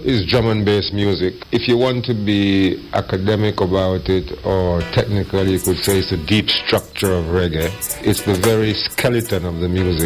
is drum and bass music. If you want to be academic about it, or technically you could say it's the deep structure of reggae. It's the very skeleton of the music.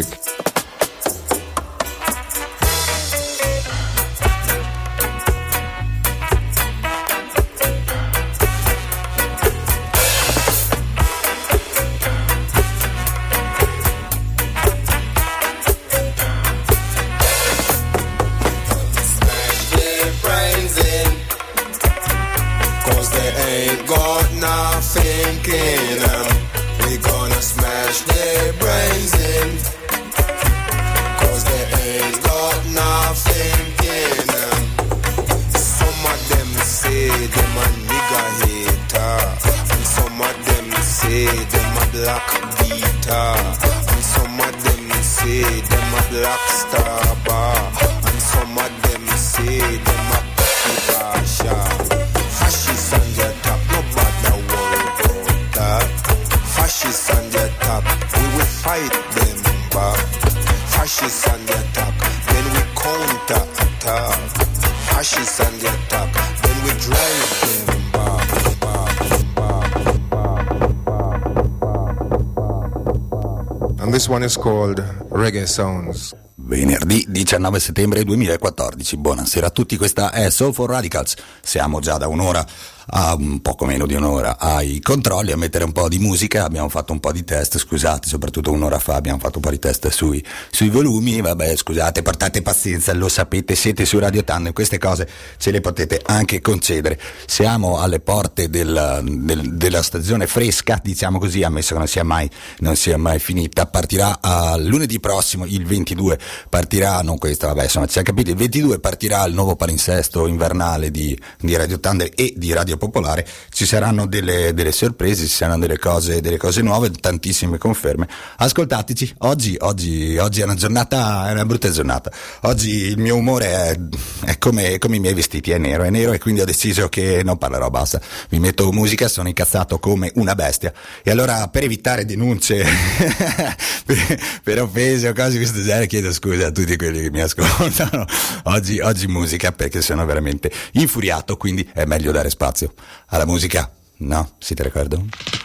This one is called Reggae Sounds. Venerdì 19 settembre 2014, buonasera a tutti, questa è Soul for Radicals. Siamo già da un'ora a un poco meno di un'ora ai controlli, a mettere un po' di musica. Abbiamo fatto un po' di test, scusate, soprattutto un'ora fa abbiamo fatto un po' di test sui volumi. Vabbè, scusate, portate pazienza, lo sapete, siete su Radio Tandem, queste cose ce le potete anche concedere. Siamo alle porte della stagione fresca, diciamo così, ammesso che non sia mai finita. Partirà lunedì prossimo, il 22 partirà, non questo, vabbè, insomma, ci siamo capiti, il 22 partirà il nuovo palinsesto invernale di Radio Tandem e di Radio Popolare. Ci saranno delle sorprese, ci saranno delle cose nuove, tantissime conferme. Ascoltateci, oggi è una brutta giornata. Oggi il mio umore è come i miei vestiti, è nero e quindi ho deciso che non parlerò, basta. Vi metto musica, sono incazzato come una bestia. E allora, per evitare denunce per offese o cose di questo genere, chiedo scusa a tutti quelli che mi ascoltano. Oggi musica, perché sono veramente infuriato, quindi è meglio dare spazio alla musica. No? Siete d'accordo?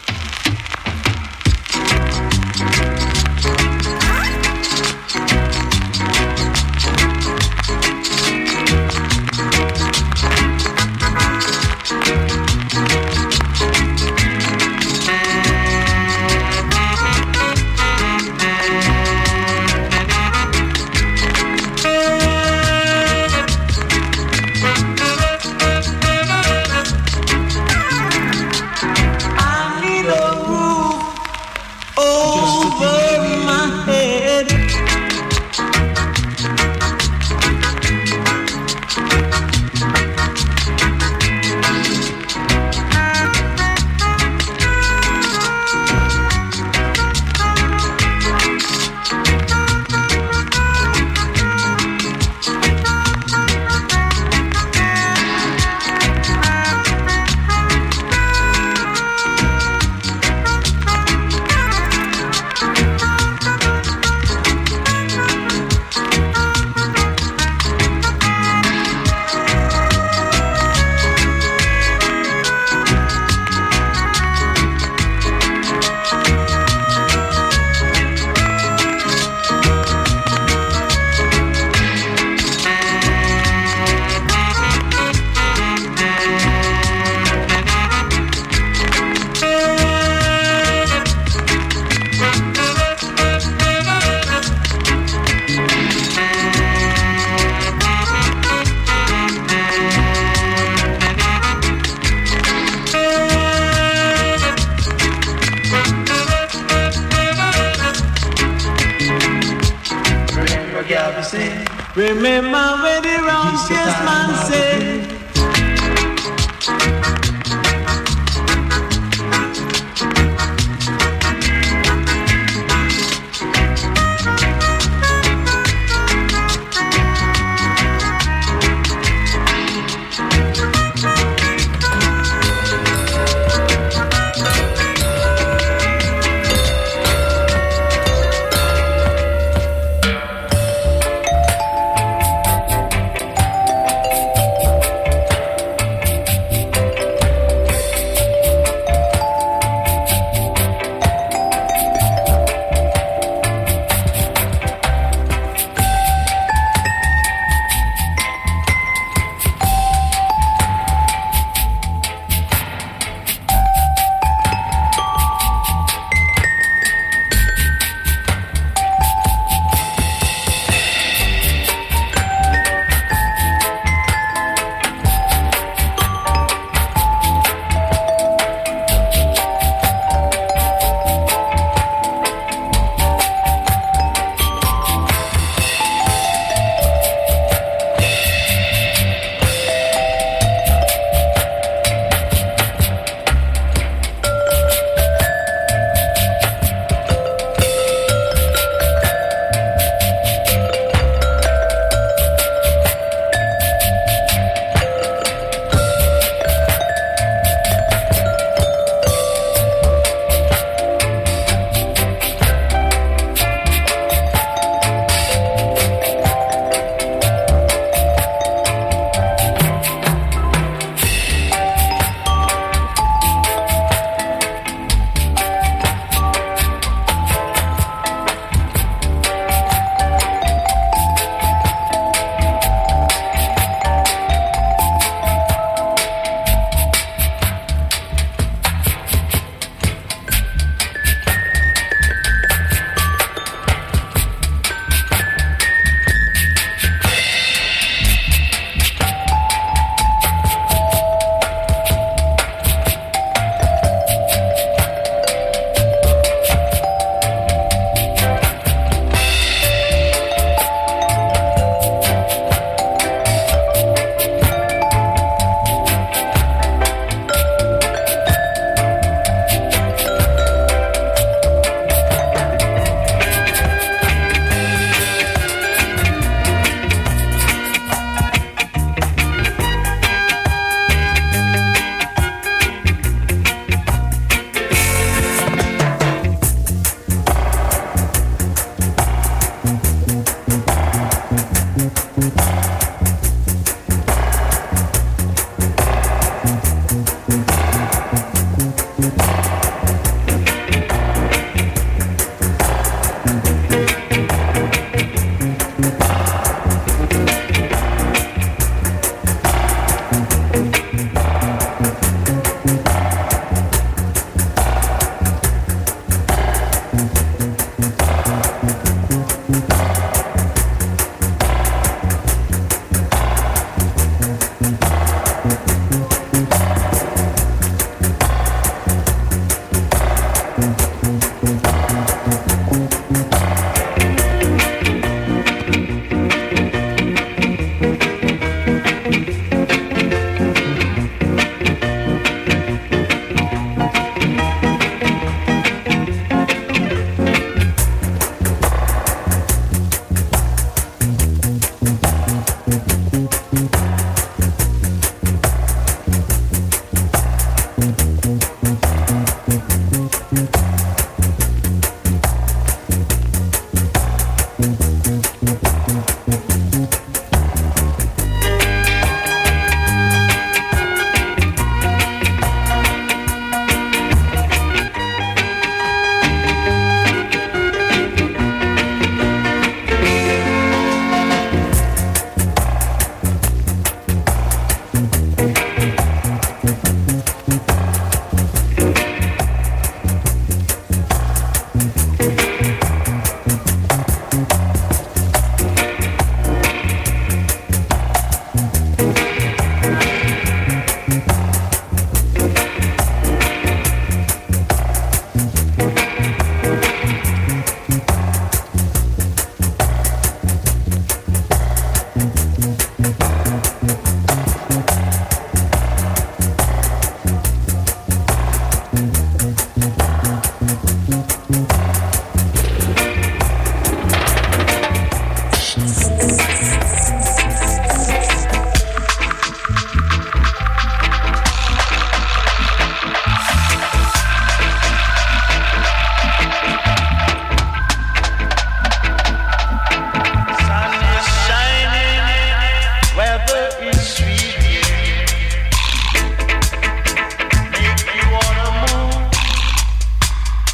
Remember where the round face man said.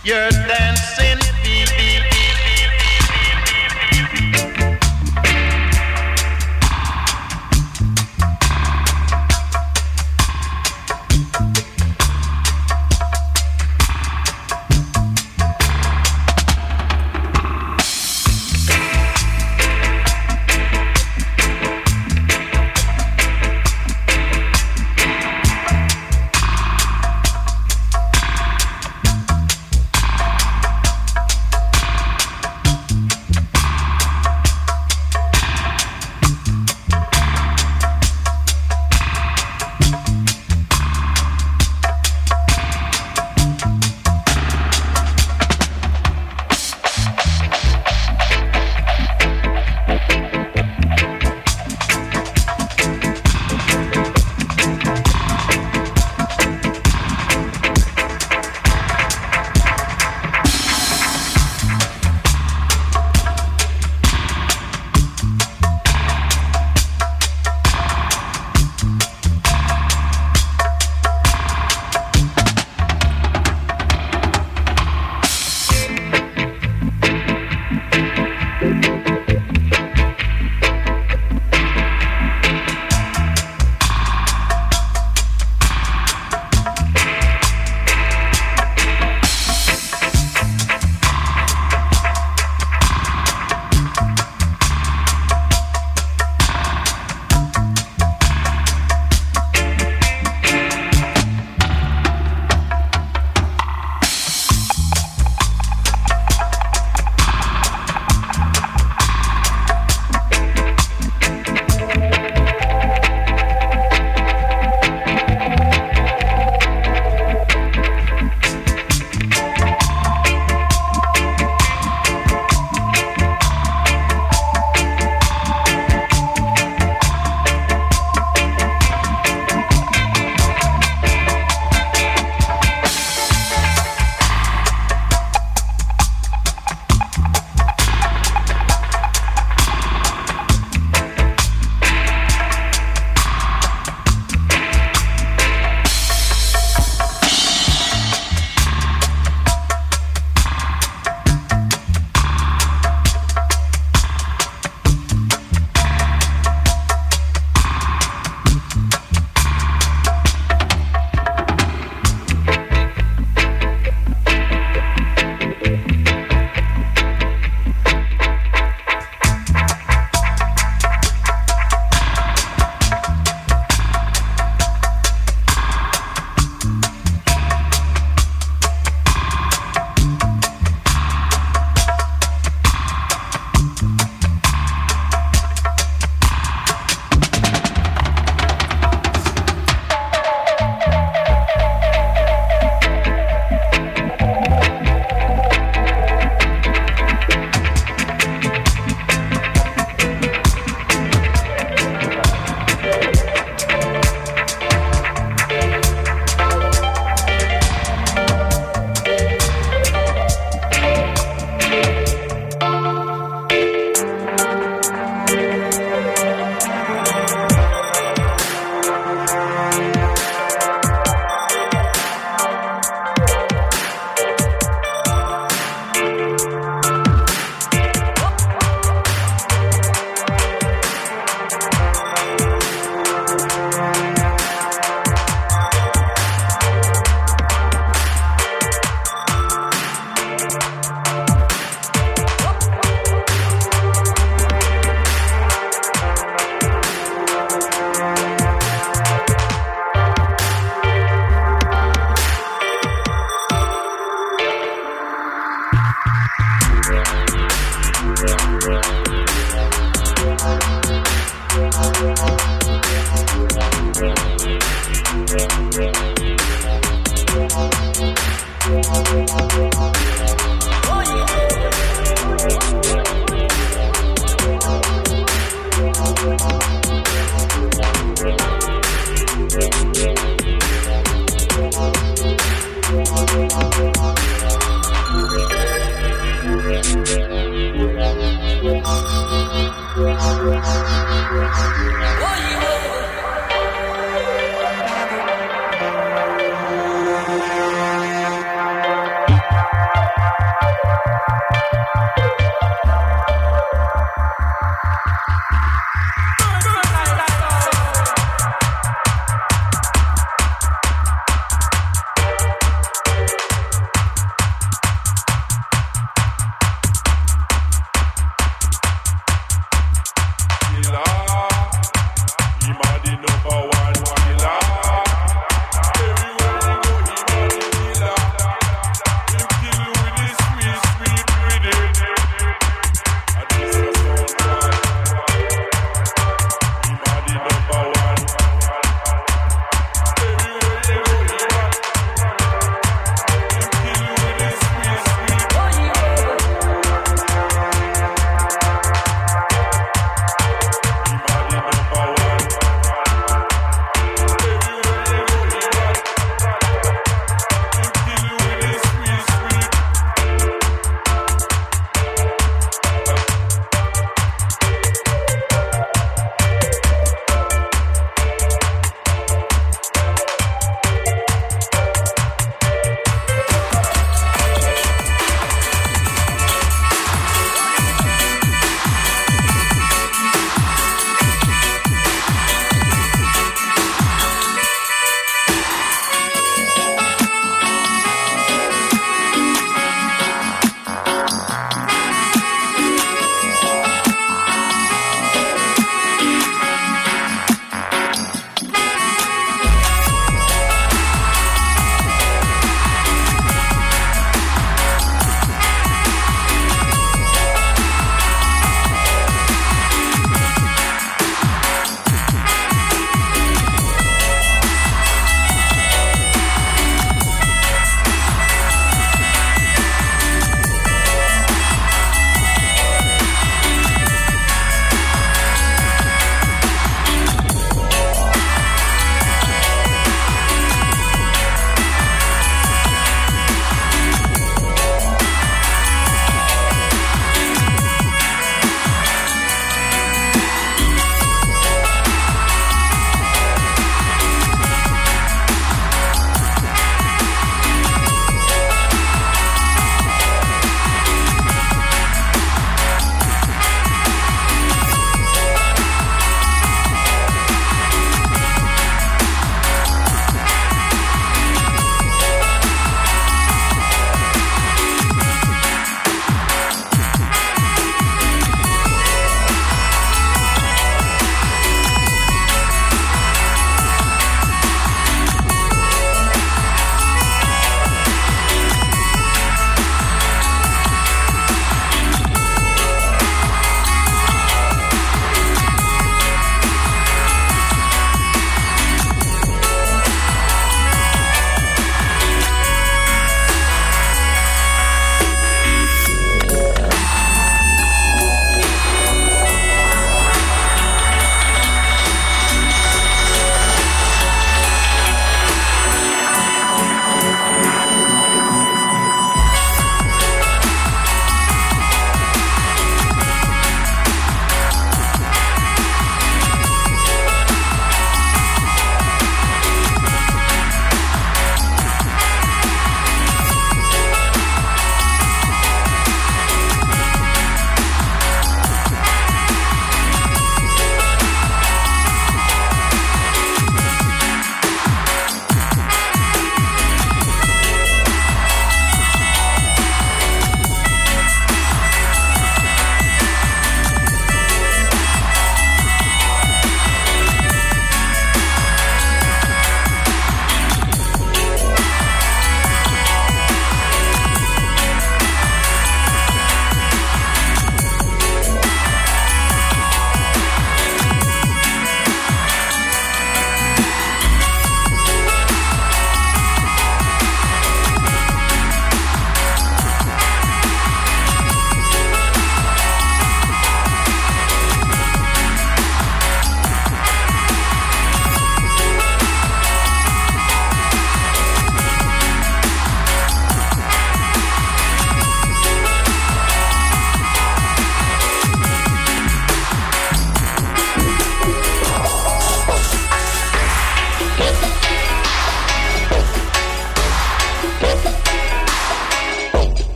Your dancing feet.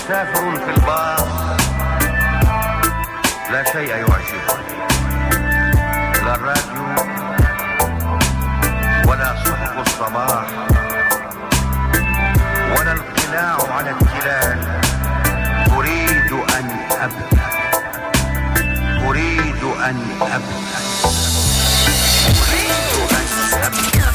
مسافر في الباص لا شيء يعجبه، لا الراديو ولا صحف الصباح ولا القلاع على التلال. أريد أن أبدأ، أريد أن أبدأ، أريد أن أبدأ.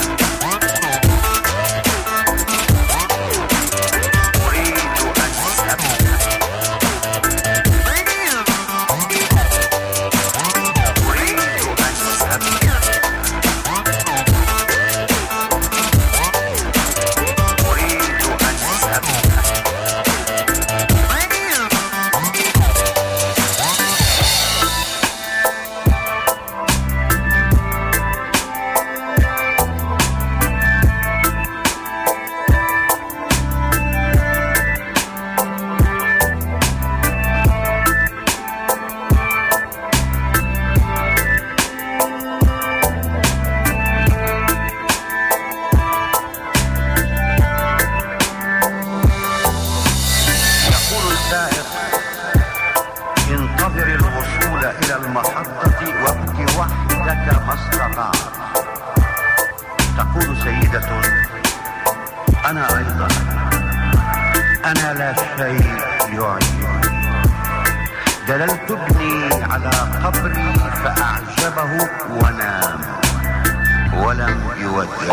دللت ابني على قبري فأعجبه ونام ولم يودع.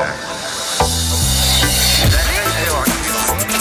لا شيء يعجبني.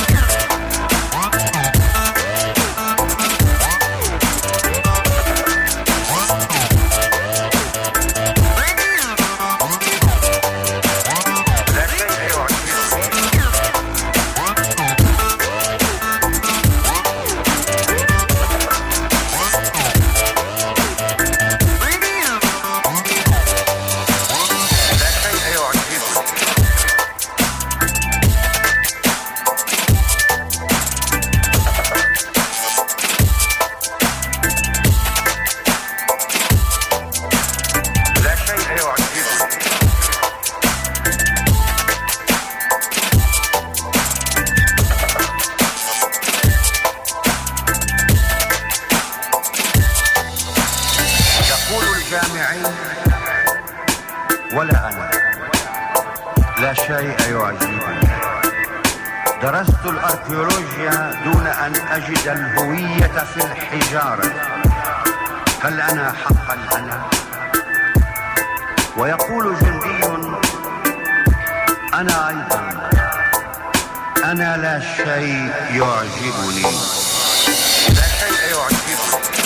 ولا أنا لا شيء يعجبني. درست الأركيولوجيا دون أن أجد الهوية في الحجارة. هل أنا حقا أنا؟ ويقول جندي أنا أيضا أنا لا شيء يعجبني. لا شيء يعجبني.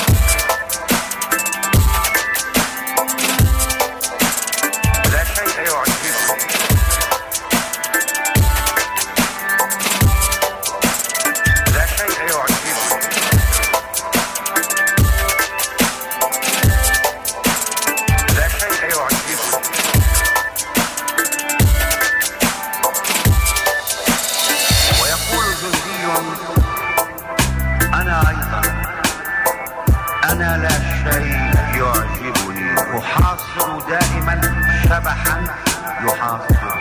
أنا لا شيء يعجبني. أحاصر دائما شبحا يحاصر.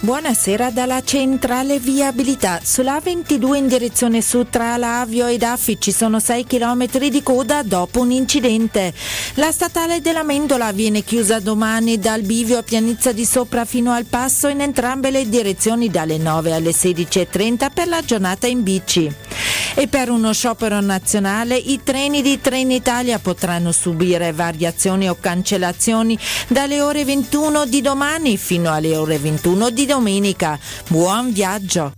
Buonasera dalla centrale viabilità. Sulla A22 in direzione sud tra Lavio ed Affi ci sono 6 km di coda dopo un incidente. La statale della Mendola viene chiusa domani dal bivio a Pianizza di Sopra fino al Passo in entrambe le direzioni dalle 9 alle 16:30 per la giornata in bici. E per uno sciopero nazionale i treni di Trenitalia potranno subire variazioni o cancellazioni dalle ore 21 di domani fino alle ore 21 di domenica. Buon viaggio!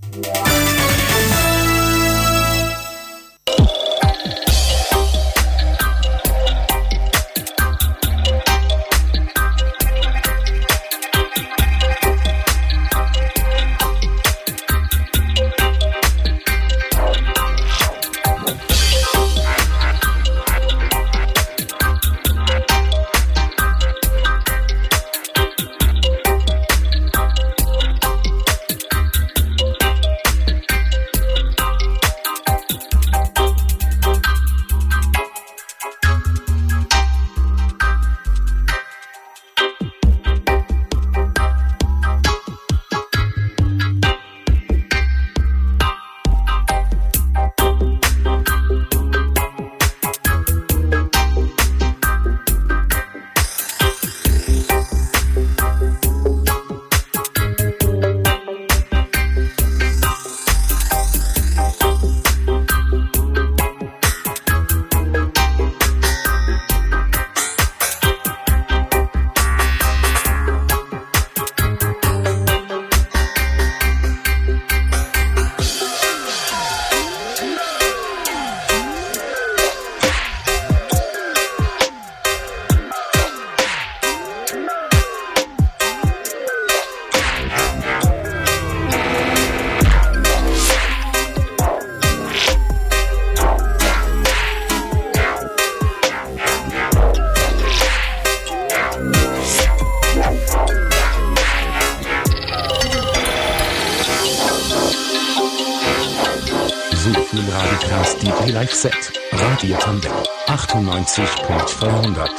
Live-Set, Radio Tandem, 98.400.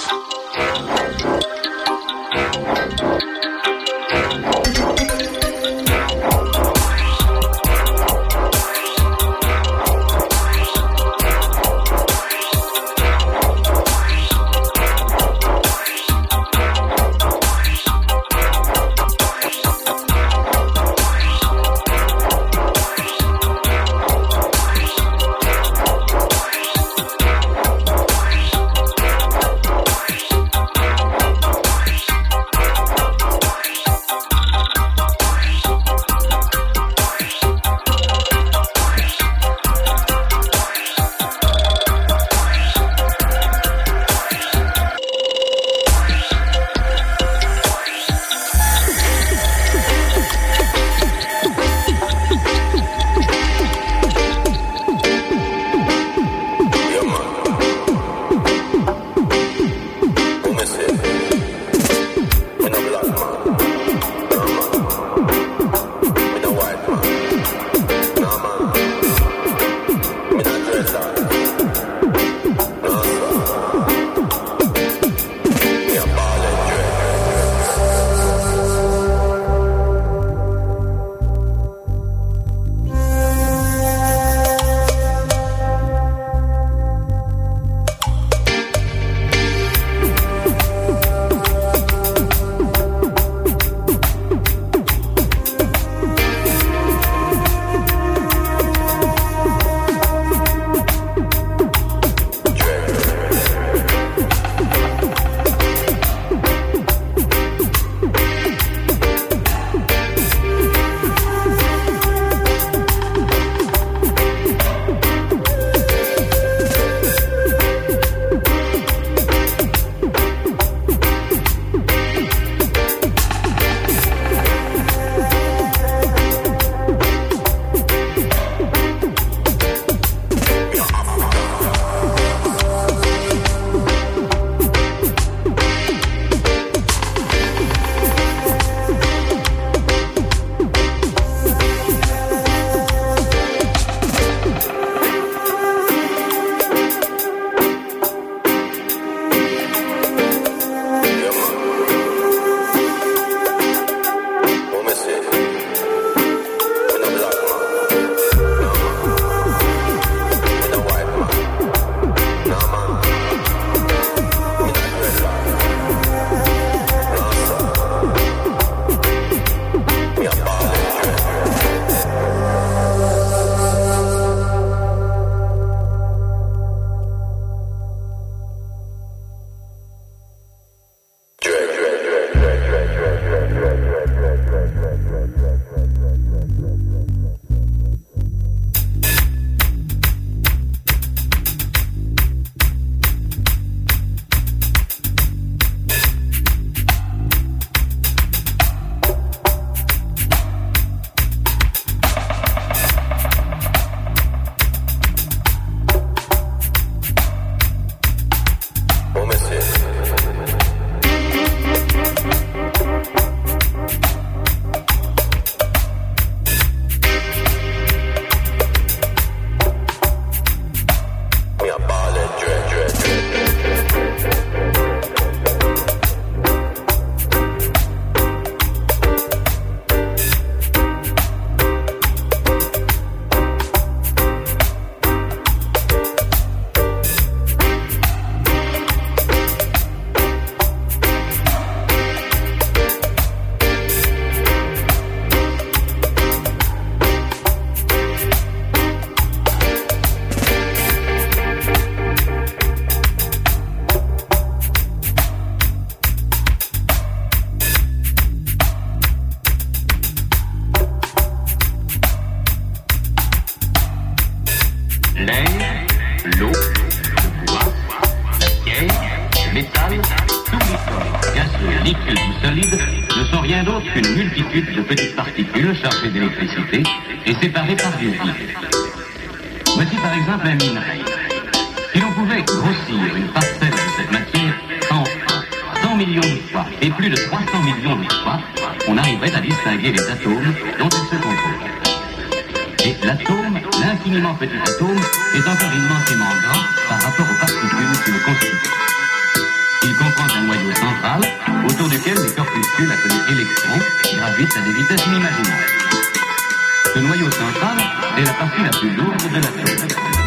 liquides ou solides ne sont rien d'autre qu'une multitude de petites particules chargées d'électricité et séparées par du vide. Voici par exemple un minerai. Si l'on pouvait grossir une parcelle de cette matière en 100 millions de fois et plus de 300 millions de fois, on arriverait à distinguer les atomes dont ils se composent. Et l'atome, l'infiniment petit atome, est encore immensément grand par rapport aux particules qui le constituent. Il comprend un noyau central autour duquel les corpuscules appelés électrons gravitent à des vitesses inimaginables. Ce noyau central est la partie la plus lourde de l'atome.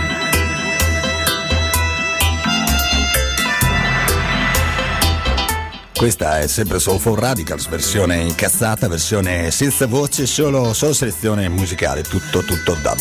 Questa è sempre Soul for Radicals, versione incazzata, versione senza voce, solo selezione musicale, tutto dub.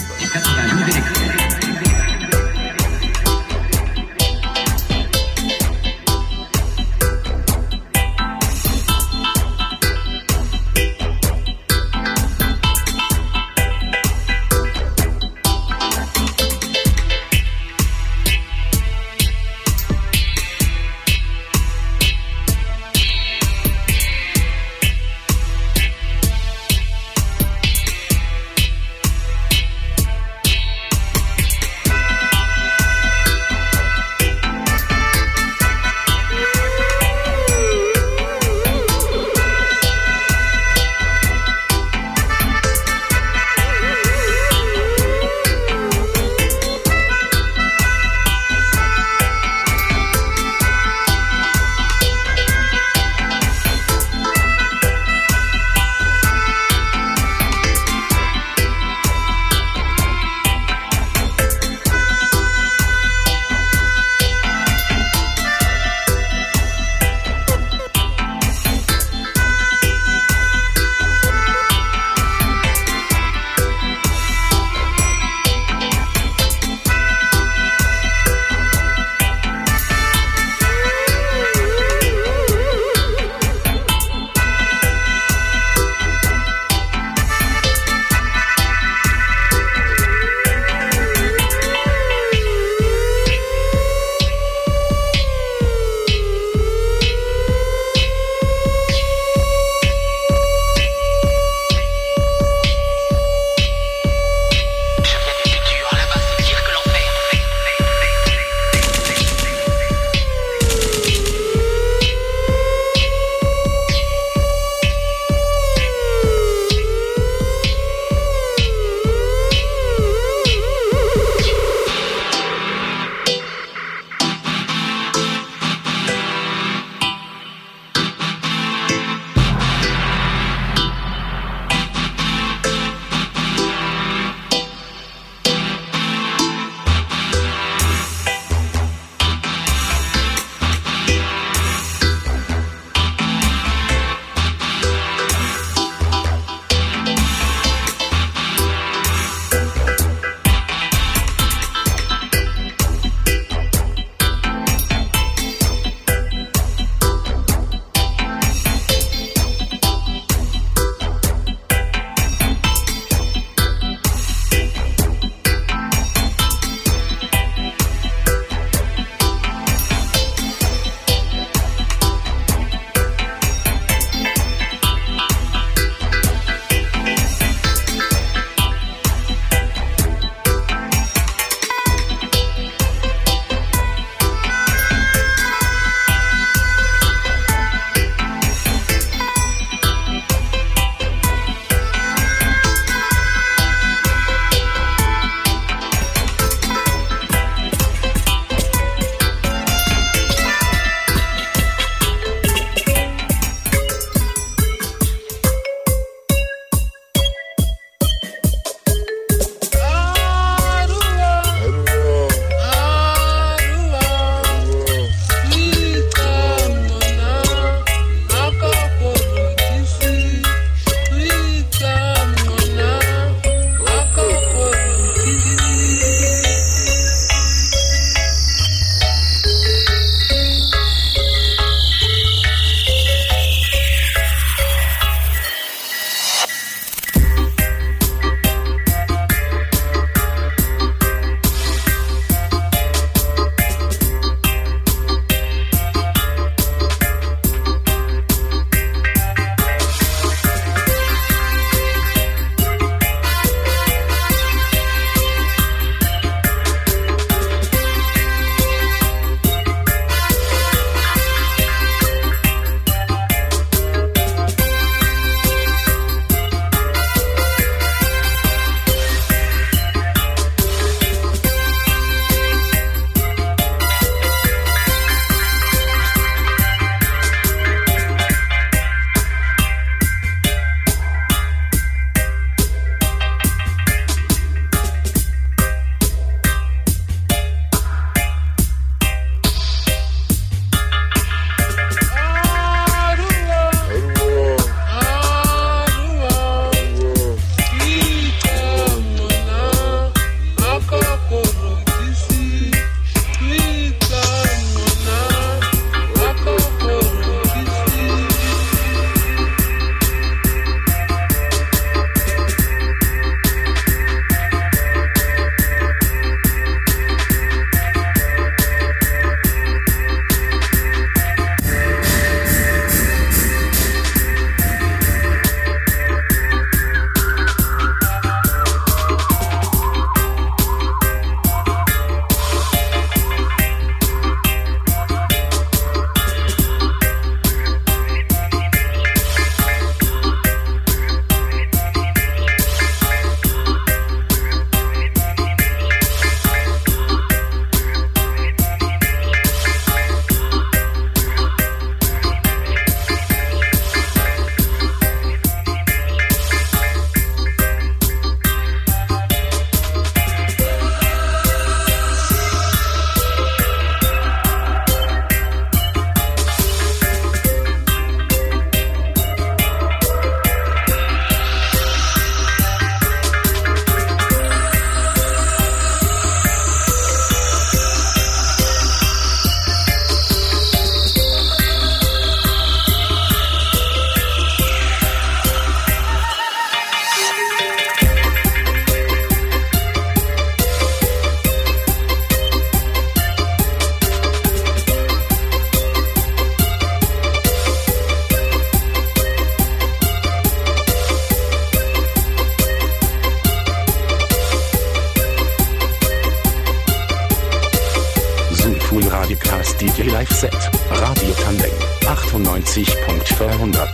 Radicals DJ Live Set. Radio Tandem 98.400.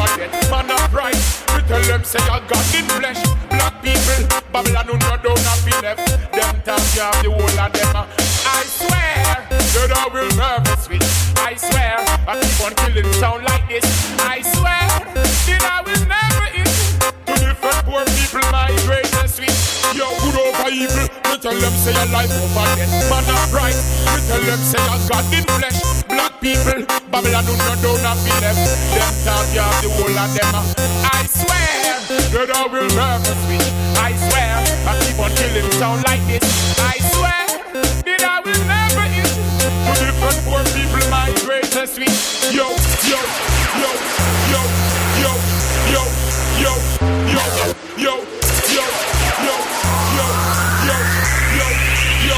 overget. Man of right, we tell them say I got in flesh. Black people, Babylon who no don't have be left. Them talk you have the whole of them. I swear, that I will never switch. I swear, I keep on killing sound like this. I swear, that I will never eat. To different poor people, my greatest switch. Yo, good over evil, we tell them say your life over death. Man of right, we tell them say I got in flesh. Black people, Babylon who no don't have be left. Them talk you have the whole of them. I swear, that I will never switch. I swear, I keep on killing sound like this. I swear, that I will never eat. To different poor people, my greatest switch. Yo, yo, yo, yo, yo, yo, yo, yo, yo, yo, yo, yo, yo, yo, yo,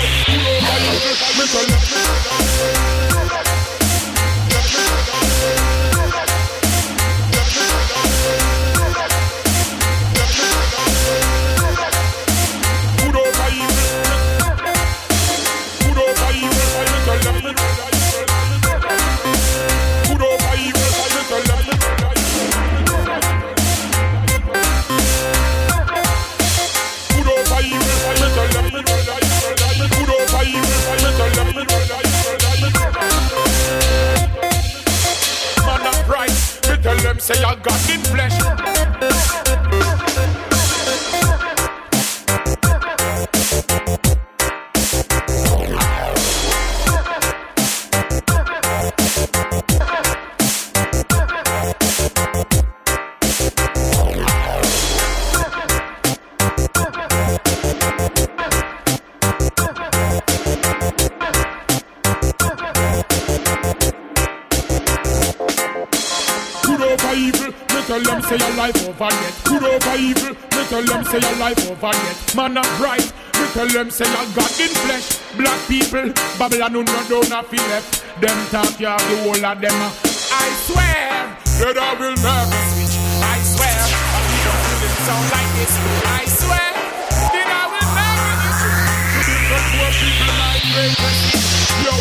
say I got in flesh. Tell them say your life over yet. Good over evil, me tell them say your life over yet. Man of right, me tell them say your God in flesh. Black people, Babylon who no don't have left. Them talk you have the whole of them. I swear that I will never switch. I swear, I keep on feeling sound like this. I swear that I will never switch. To different poor people, my greatest. Yo.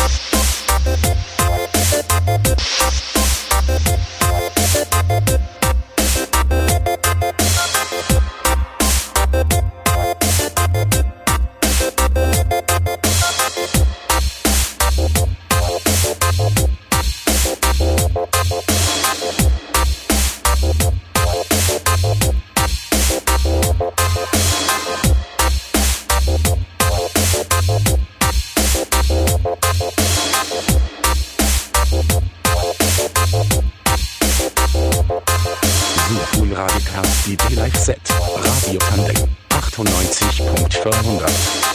DJ Live Set, Radio Tandem, 98.400.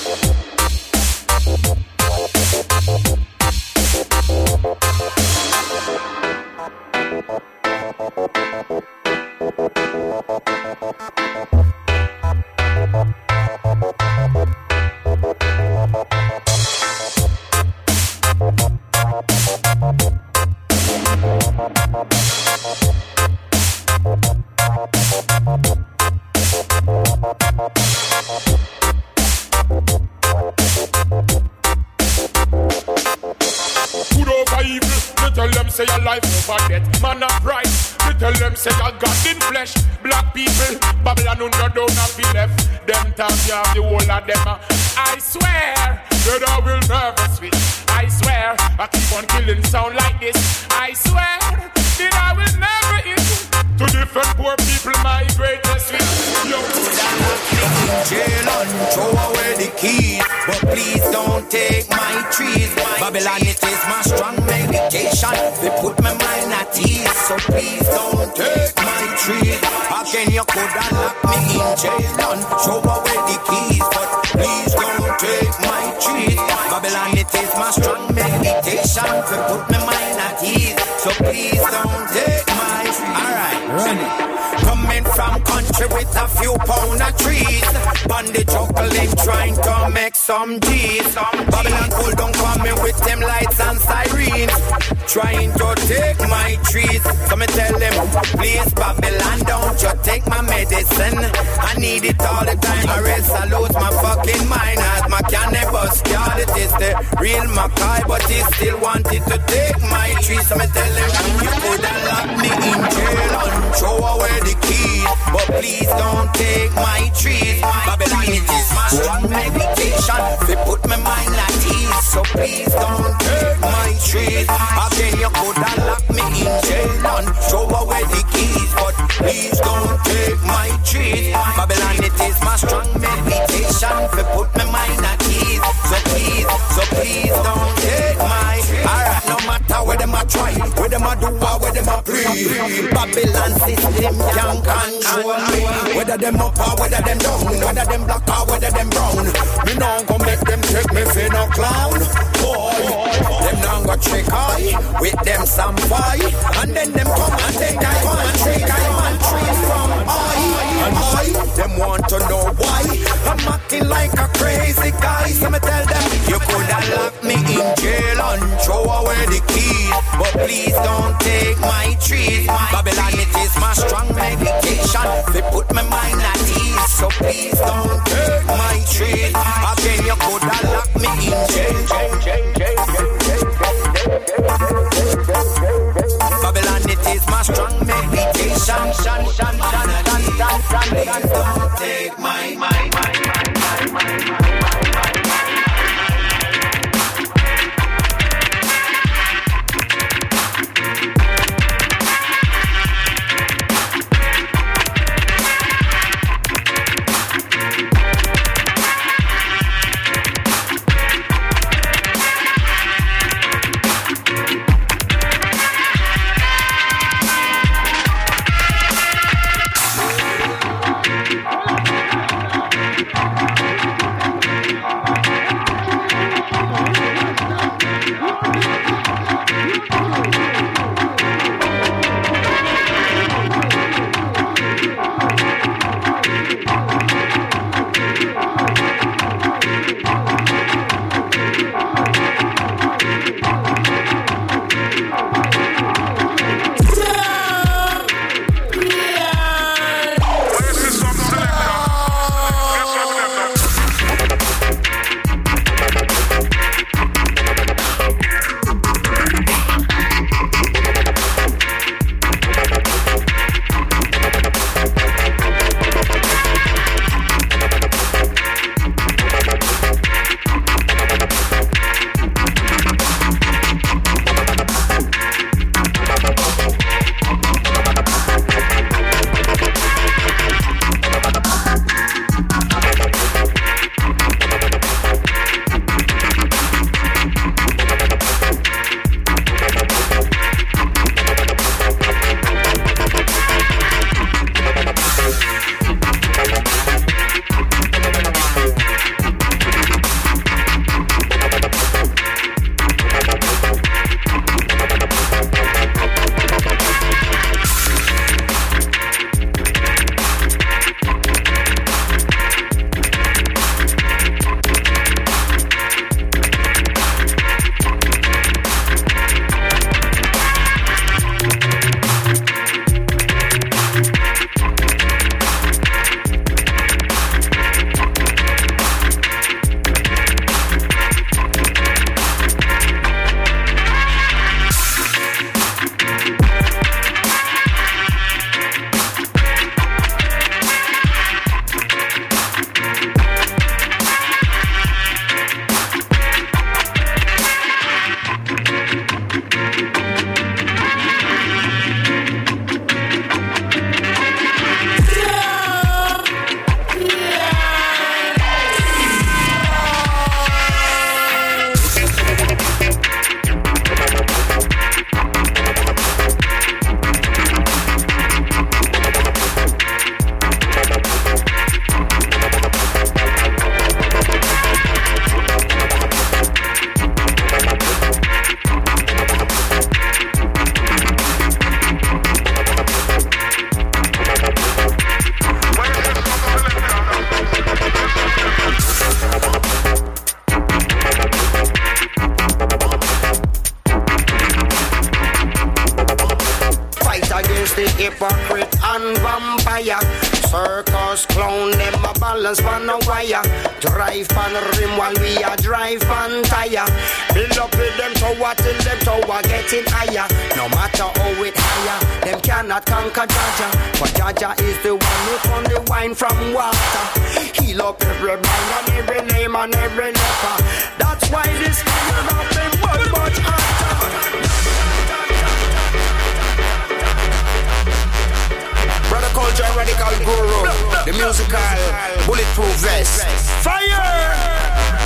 Say your life over death, man of right. We tell them say I got in flesh. Black people, Babylon who no don't have be left. Them talk you have the whole of them. I swear that I will never switch. I swear I keep on killing sound like this. I swear that I will never eat. To different poor people, my greatest switch. Yo, jail and throw away the keys, but please don't take my trees. Babylon, it is my strong medication. They put my mind at ease, so please don't take my trees. Again, you could have locked me in jail and throw away the keys, but please don't take my trees. Babylon, it is my strong meditation. They put my mind at ease, so please don't take my trees. Alright, run it. Coming from country with a few pound of trees, bandit juggling trying to make some G's. Babylon pull down coming with them lights and sirens. trying to take my trees. So me tell them, please Babylon, don't you take my medicine. I need it all the time, or else I lose my fucking mind. As my cannabis god, it is the real Mackay, but he still wanted to take my trees. So me tell them, you could have locked me in jail and throw away the keys, but please don't take my trees. Babylon, it is my strong meditation. They put my mind at ease, so please don't take my trees. Again, you could have locked me in jail and throw away the keys, but please don't take my trees. Babylon, it is my strong meditation. They put my mind at ease, so please don't take my. Alright, no matter where them a try, where them a do or where them a play, Babylon system can control me. Whether them up or whether them down, whether them black or whether them brown, me now go make them take me for no clown. Boy, them now go trick I with them some fight, and then them come and take I one take I one tree from I, them want to know why I'm acting like a crazy guy. So me tell them, you could have locked me in jail and throw away the keys, but please don't take my trees. Babylon, it is my strong meditation. They put my mind at ease, so please don't take my trees. Again, you could have locked me in jail. Babylon, it is my strong meditation. Please don't take my. hypocrite and vampire. Circus clown, them a balance on a wire. Drive on rim while we a drive on tire. Build up with them tower till them tower getting higher. No matter how it higher, them cannot conquer Jaja. But Jaja is the one who turn the wine from water. Heal up every man and every name and every leper. That's why this fire of them was much hotter. Brother Culture, Radical Guru, the musical bulletproof vest. Fire!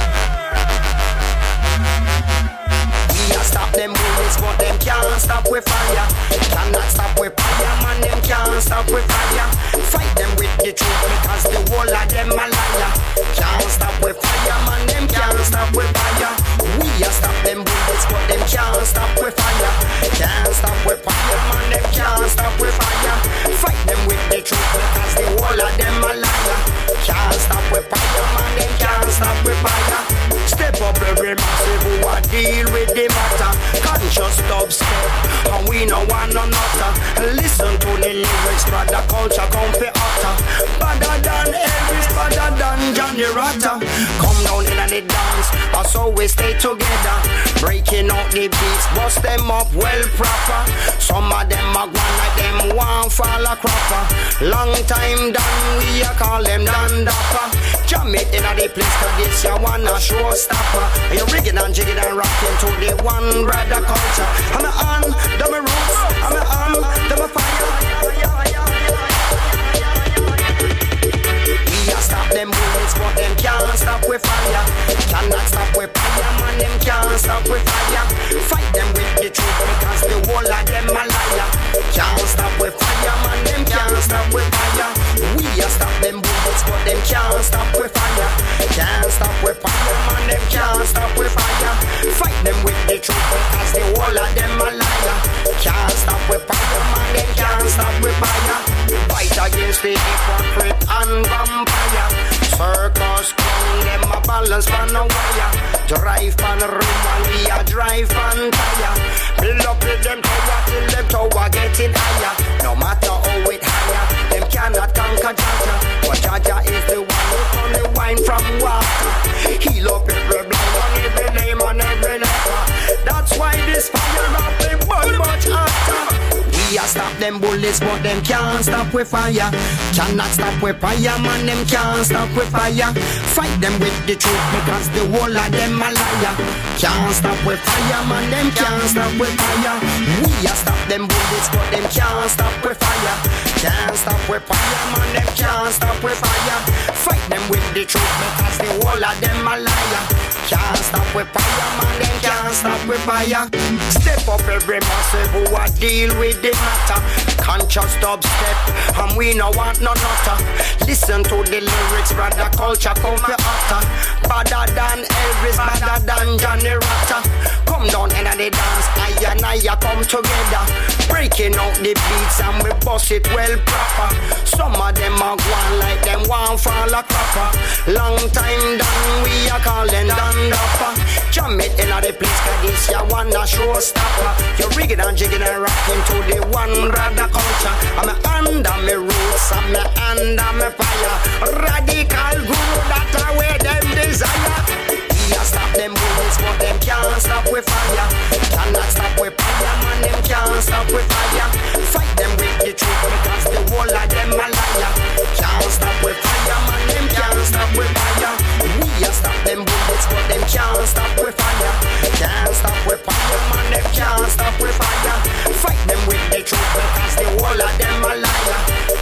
Stop them bullets, but them can't stop with fire. Cannot stop with fire, man, them can't stop with fire. Fight them with the truth because the whole of them a liar. Can't stop with fire, man, them can't stop with fire. We a stop them bullets, but them can't stop with fire. Can't stop with fire, man, them can't stop with fire. Fight them with the truth because the whole of them a liar. Can't stop with fire, man, them can't stop with fire. Step up every massive who a deal with the matter. Conscious dubstep, and we no one another. Listen to the lyrics, brother Culture come for utter. Better than Elvis, better than Johnny Rotter. Come down in the dance, us always stay together. Breaking out the beats, bust them up well proper. Some of them are gone like them one fall a cropper. Long time done, we a call them Dan Dapper. Jam it in the place, cause this ya wanna showstopper. You rigging and jigging and rocking to the one brother Culture. I'm a on, them a roots, I'm a on, them a fire. We a stop them bullets, but them can't stop with fire. Cannot stop with fire, man, them can't stop with fire. Fight them with the truth because the whole of them a liar. Can't stop with fire, man, them can't stop with fire. We a stop them bullets, but them can't stop with fire. Can't stop with fire, man, them can't stop with fire. Fight them with the truth because the whole of them a liar. Can't stop with fire, man, them can't stop with fire. Fight against the hypocrite and vampire. Circus clown, them a balance on a wire. Drive on rim and we a drive on tire. Build up with them tower till them tower getting higher. No matter how it higher, them cannot conquer Jaja. But Jaja is the one who turn the wine from water. Heal up every blind and every name and every leper. That's why this fire of them was much hotter. We a stop them bullets, but them can't stop with fire. Cannot stop with fire, man, them can't stop with fire. Fight them with the truth because the whole of them a liar. Can't stop with fire, man, them can't stop with fire. We a stop them bullets, but them can't stop with fire. Can't stop with fire, man, them can't stop with fire. Fight them with the truth because the whole of them a liar. Can't stop with fire, man, them can't stop with fire. Step up every massive who a deal with the matter. Conscious dubstep, and we no want no nutter. Listen to the lyrics, brother Culture come for utter. Better than Elvis, better than Johnny Rotter. Come down in the dance, I and I come together. Breaking out the beats and we bust it well proper. Some of them are gone like them one fall a cropper. Long time done, we are calling Dan Dapper. Jam it in the place, cause this ya wanna showstopper. You're rigging and jigging and rocking to the one brother Culture. I'm under me roots, I'm under me fire. Radical Guru, that's where them desire. We a stop them bullets, but them can't stop with fire. Cannot stop with fire, man, them can't stop with fire. Fight them with the truth because the whole of them a liar. Can't stop with fire, man, them can't stop with fire. We a stop them bullets, but them can't stop with fire. Can't stop with fire, man, them can't stop with fire. Fight them with the truth because the whole of them a liar.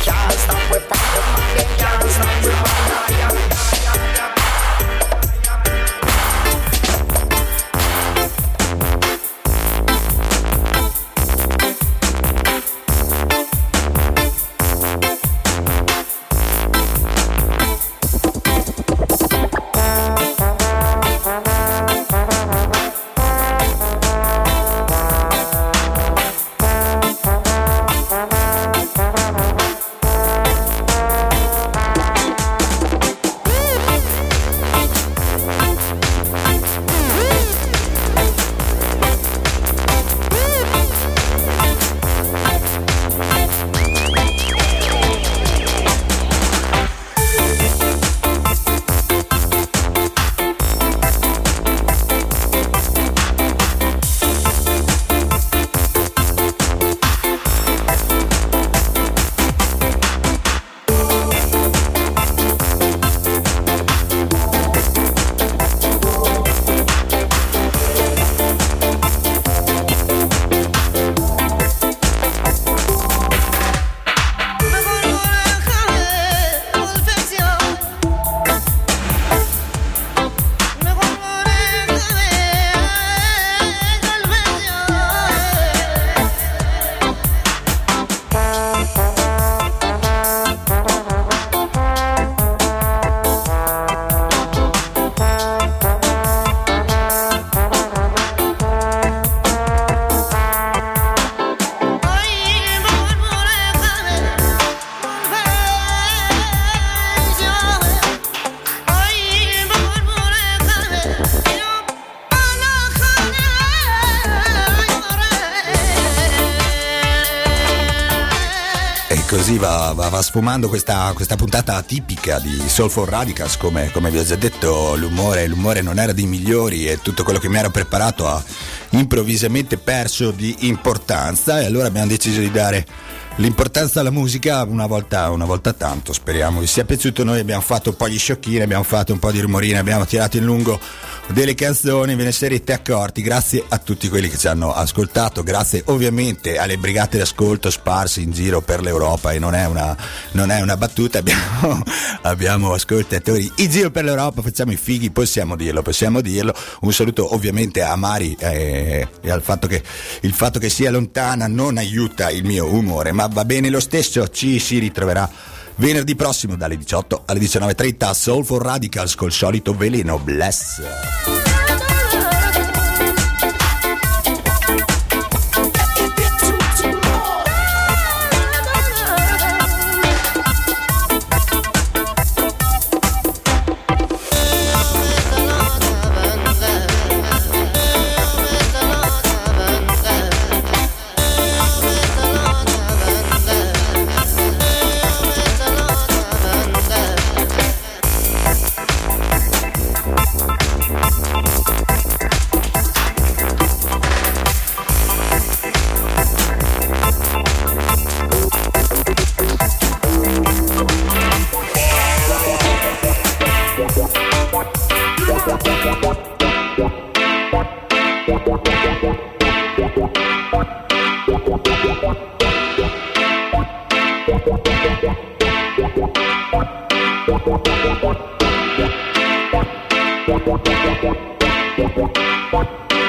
così va sfumando questa puntata tipica di Soulful Radicals. Come vi ho già detto, l'umore non era dei migliori e tutto quello che mi ero preparato ha improvvisamente perso di importanza, e allora abbiamo deciso di dare l'importanza alla musica una volta tanto. Speriamo vi sia piaciuto. Noi abbiamo fatto un po' gli sciocchini, abbiamo fatto un po' di rumorine, abbiamo tirato in lungo delle canzoni, ve ne sarete accorti. Grazie a tutti quelli che ci hanno ascoltato, grazie ovviamente alle brigate d'ascolto sparse in giro per l'Europa, e non è una battuta, abbiamo ascoltatori in giro per l'Europa, facciamo i fighi, possiamo dirlo. Un saluto ovviamente a Mari, e al fatto che il fatto che sia lontana non aiuta il mio umore, ma va bene lo stesso. Ci si ritroverà venerdì prossimo dalle 18 alle 19:30 Soulful Radicals col solito veleno. Bless.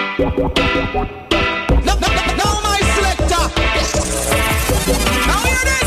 No, my selector. Now hear this.